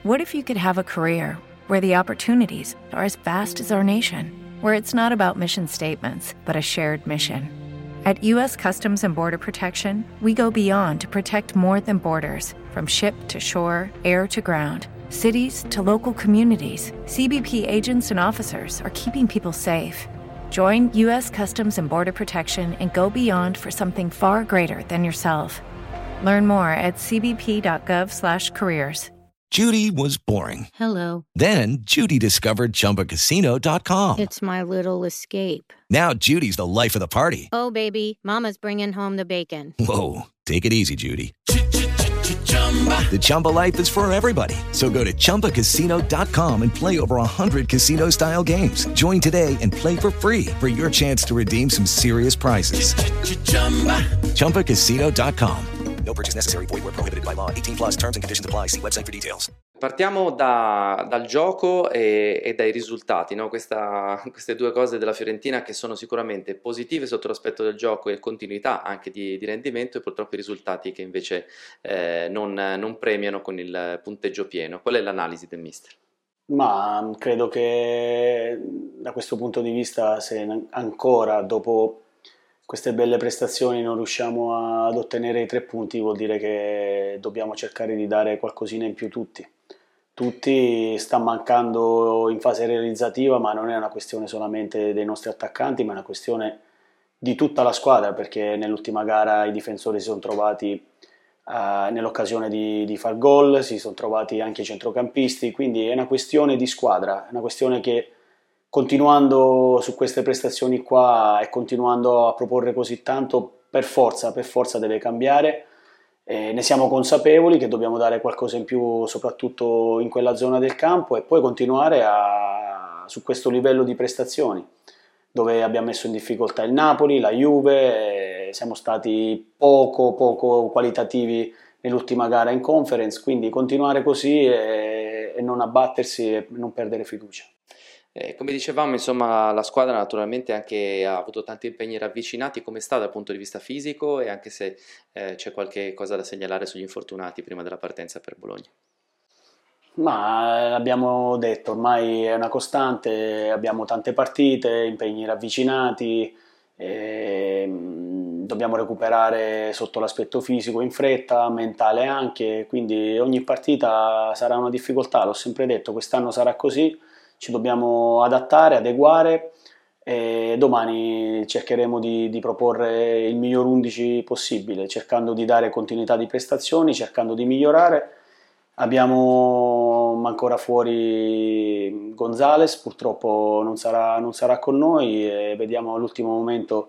What if you could have a career where the opportunities are as vast as our nation, where it's not about mission statements, but a shared mission? At U.S. Customs and Border Protection, we go beyond to protect more than borders. From ship to shore, air to ground, cities to local communities, CBP agents and officers are keeping people safe. Join U.S. Customs and Border Protection and go beyond for something far greater than yourself. Learn more at cbp.gov/careers. Judy was boring. Hello. Then Judy discovered ChumbaCasino.com. It's my little escape. Now Judy's the life of the party. Oh, baby, mama's bringing home the bacon. Whoa, take it easy, Judy. The Chumba life is for everybody. So go to ChumbaCasino.com and play over 100 casino-style games. Join today and play for free for your chance to redeem some serious prizes. ChumbaCasino.com. No purchase necessary. Void where prohibited by law. 18+ terms and conditions apply. See website for details. Partiamo dal gioco e dai risultati, no? Queste due cose della Fiorentina che sono sicuramente positive sotto l'aspetto del gioco e continuità anche di rendimento, e purtroppo i risultati che invece non premiano con il punteggio pieno. Qual è l'analisi del mister? Ma credo che da questo punto di vista, se ancora dopo queste belle prestazioni non riusciamo ad ottenere i 3 punti, vuol dire che dobbiamo cercare di dare qualcosina in più tutti. Sta mancando in fase realizzativa, ma non è una questione solamente dei nostri attaccanti, ma è una questione di tutta la squadra, perché nell'ultima gara i difensori si sono trovati nell'occasione di far gol, si sono trovati anche i centrocampisti, quindi è una questione di squadra, è una questione che, continuando su queste prestazioni qua e continuando a proporre così tanto, per forza deve cambiare. Ne siamo consapevoli che dobbiamo dare qualcosa in più soprattutto in quella zona del campo, e poi continuare su questo livello di prestazioni, dove abbiamo messo in difficoltà il Napoli, la Juve, siamo stati poco qualitativi nell'ultima gara in Conference, quindi continuare così e non abbattersi e non perdere fiducia. Come dicevamo, insomma, la squadra naturalmente anche ha avuto tanti impegni ravvicinati. Come sta dal punto di vista fisico, e anche se c'è qualche cosa da segnalare sugli infortunati prima della partenza per Bologna? Ma l'abbiamo detto, ormai è una costante, abbiamo tante partite, impegni ravvicinati, dobbiamo recuperare sotto l'aspetto fisico in fretta, mentale anche, quindi ogni partita sarà una difficoltà, l'ho sempre detto, quest'anno sarà così. Ci dobbiamo adattare, adeguare, e domani cercheremo di proporre il miglior 11 possibile, cercando di dare continuità di prestazioni, cercando di migliorare. Abbiamo ancora fuori Gonzalez, purtroppo non sarà con noi, e vediamo all'ultimo momento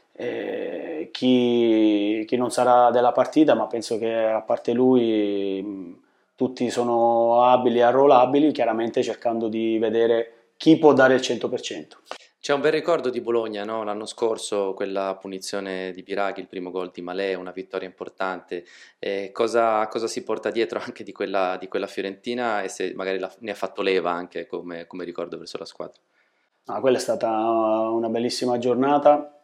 chi non sarà della partita, ma penso che a parte lui tutti sono abili e arruolabili, chiaramente cercando di vedere chi può dare il 100%. C'è un bel ricordo di Bologna, no? L'anno scorso, quella punizione di Biraghi, il primo gol di Malé, una vittoria importante. Cosa si porta dietro anche di quella Fiorentina, e se magari ne ha fatto leva anche come ricordo verso la squadra? Quella è stata una bellissima giornata,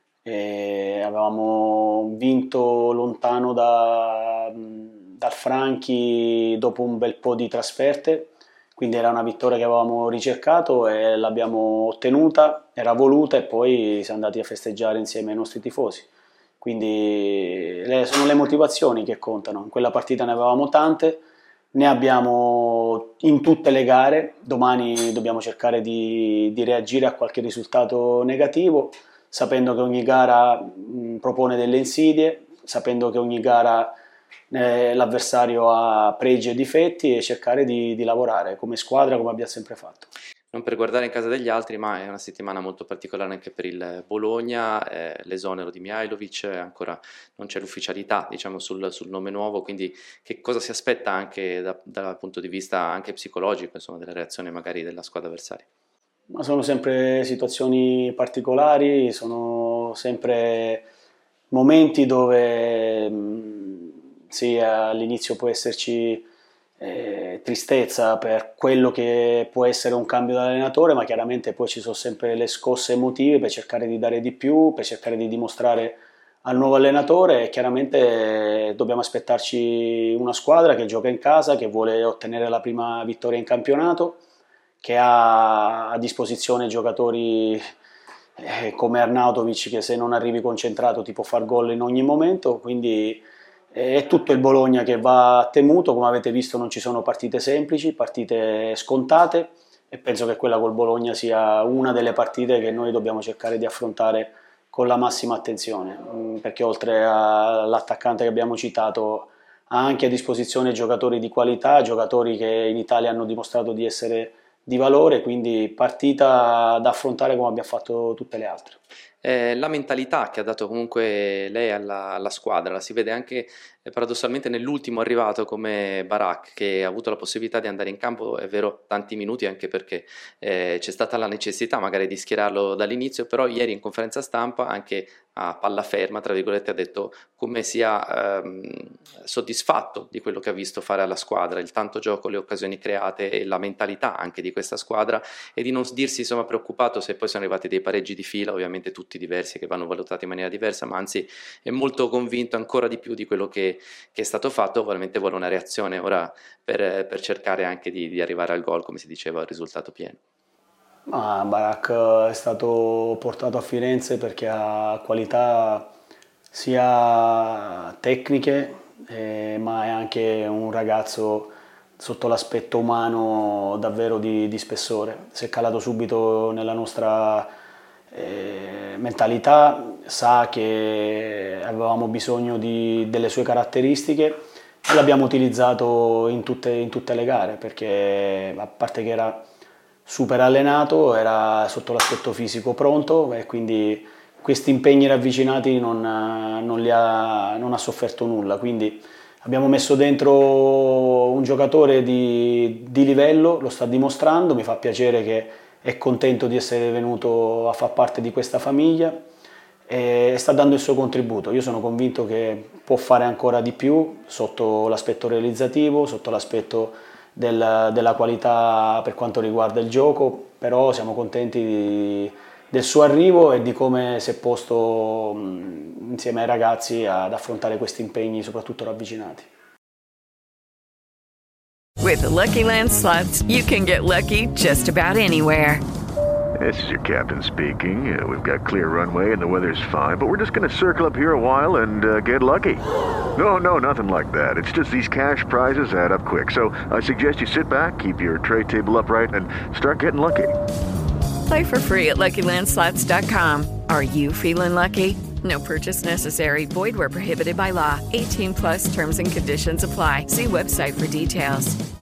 avevamo vinto lontano dal Franchi dopo un bel po' di trasferte, quindi era una vittoria che avevamo ricercato e l'abbiamo ottenuta, era voluta, e poi siamo andati a festeggiare insieme ai nostri tifosi. Quindi sono le motivazioni che contano. In quella partita ne avevamo tante, ne abbiamo in tutte le gare. Domani dobbiamo cercare di reagire a qualche risultato negativo, sapendo che ogni gara propone delle insidie, sapendo che ogni gara l'avversario ha pregi e difetti, e cercare di lavorare come squadra, come abbiamo sempre fatto. Non per guardare in casa degli altri, ma è una settimana molto particolare anche per il Bologna, l'esonero di Mihajlovic, ancora non c'è l'ufficialità, diciamo, sul nome nuovo, quindi che cosa si aspetta anche dal punto di vista anche psicologico, insomma, della reazione magari della squadra avversaria? Ma sono sempre situazioni particolari, sono sempre momenti dove sì, all'inizio può esserci tristezza per quello che può essere un cambio dell'allenatore, ma chiaramente poi ci sono sempre le scosse emotive per cercare di dare di più, per cercare di dimostrare al nuovo allenatore, e chiaramente dobbiamo aspettarci una squadra che gioca in casa, che vuole ottenere la prima vittoria in campionato, che ha a disposizione giocatori come Arnautovic, che se non arrivi concentrato ti può far gol in ogni momento, quindi è tutto il Bologna che va temuto. Come avete visto non ci sono partite semplici, partite scontate, e penso che quella col Bologna sia una delle partite che noi dobbiamo cercare di affrontare con la massima attenzione, perché oltre all'attaccante che abbiamo citato ha anche a disposizione giocatori di qualità, giocatori che in Italia hanno dimostrato di essere di valore, quindi partita da affrontare come abbiamo fatto tutte le altre. La mentalità che ha dato comunque lei alla squadra la si vede anche paradossalmente nell'ultimo arrivato come Barak, che ha avuto la possibilità di andare in campo, è vero, tanti minuti, anche perché c'è stata la necessità magari di schierarlo dall'inizio, però ieri in conferenza stampa anche a palla ferma, tra virgolette, ha detto come sia soddisfatto di quello che ha visto fare alla squadra, il tanto gioco, le occasioni create e la mentalità anche di questa squadra, e di non dirsi insomma preoccupato se poi sono arrivati dei pareggi di fila, ovviamente tutti diversi, che vanno valutati in maniera diversa, ma anzi è molto convinto ancora di più di quello che è stato fatto. Ovviamente vuole una reazione ora per cercare anche di arrivare al gol, come si diceva, al risultato pieno. Barak è stato portato a Firenze perché ha qualità sia tecniche, ma è anche un ragazzo sotto l'aspetto umano davvero di spessore. Si è calato subito nella nostra mentalità, sa che avevamo bisogno delle sue caratteristiche e l'abbiamo utilizzato in tutte le gare, perché a parte che era super allenato, era sotto l'aspetto fisico pronto, e quindi questi impegni ravvicinati non ha sofferto nulla. Quindi abbiamo messo dentro un giocatore di livello, lo sta dimostrando, mi fa piacere che è contento di essere venuto a far parte di questa famiglia e sta dando il suo contributo. Io sono convinto che può fare ancora di più sotto l'aspetto realizzativo, sotto l'aspetto della qualità per quanto riguarda il gioco, però siamo contenti del suo arrivo e di come si è posto insieme ai ragazzi ad affrontare questi impegni, soprattutto ravvicinati. With the Lucky Land Slots, you can get lucky just about anywhere. This is your captain speaking. We've got clear runway and the weather's fine, but we're just going to circle up here a while and get lucky. No, nothing like that. It's just these cash prizes add up quick. So I suggest you sit back, keep your tray table upright, and start getting lucky. Play for free at LuckyLandSlots.com. Are you feeling lucky? No purchase necessary. Void where prohibited by law. 18+ terms and conditions apply. See website for details.